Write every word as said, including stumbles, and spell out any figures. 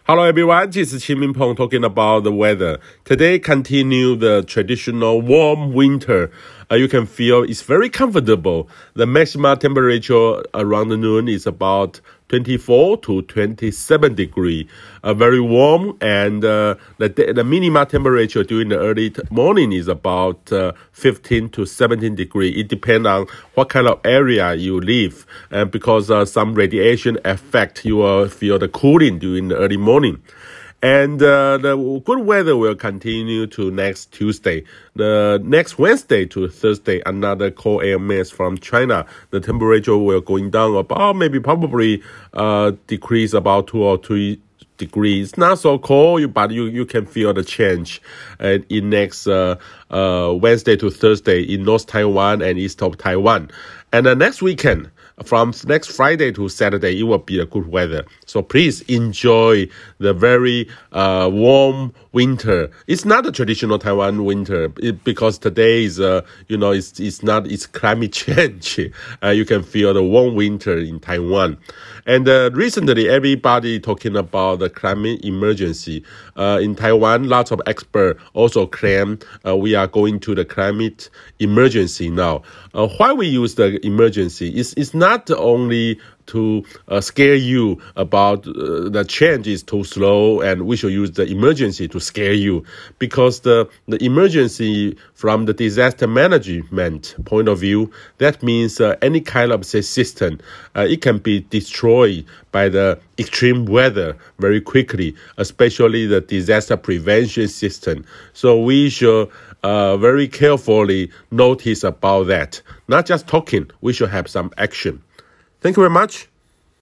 Hello everyone, this is Qin Minpeng talking about the weather. Today continue the traditional warm winter. Uh, you can feel it's very comfortable. The maximum temperature around noon is about twenty-four to twenty-seven degree. Uh, very warm, and uh, the the minimum temperature during the early t- morning is about uh, fifteen to seventeen degree. It depends on what kind of area you live, and because uh, some radiation affect, you will feel the cooling during the early morning. And uh, the good weather will continue to next Tuesday. The next Wednesday to Thursday, another cold air mass from China. The temperature will going down about maybe probably uh, decrease about two or three degrees. Not so cold, but you, you can feel the change uh, in next uh, uh, Wednesday to Thursday in North Taiwan and east of Taiwan. And the next weekend, from next Friday to Saturday, it will be a good weather. So please enjoy the very uh, warm winter. It's not a traditional Taiwan winter it, because today is, uh, you know, it's it's not, it's climate change. Uh, you can feel the warm winter in Taiwan. And uh, recently, everybody talking about the climate emergency. Uh, in Taiwan, lots of experts also claim uh, we are going to the climate emergency now. Uh, why we use the emergency? It's, it's not only to uh, scare you about uh, the change is too slow and we should use the emergency to scare you, because the, the emergency from the disaster management point of view, that means uh, any kind of say, system, uh, it can be destroyed by the extreme weather very quickly, especially the disaster prevention system. So we should uh, very carefully notice about that. Not just talking, we should have some action. Thank you very much.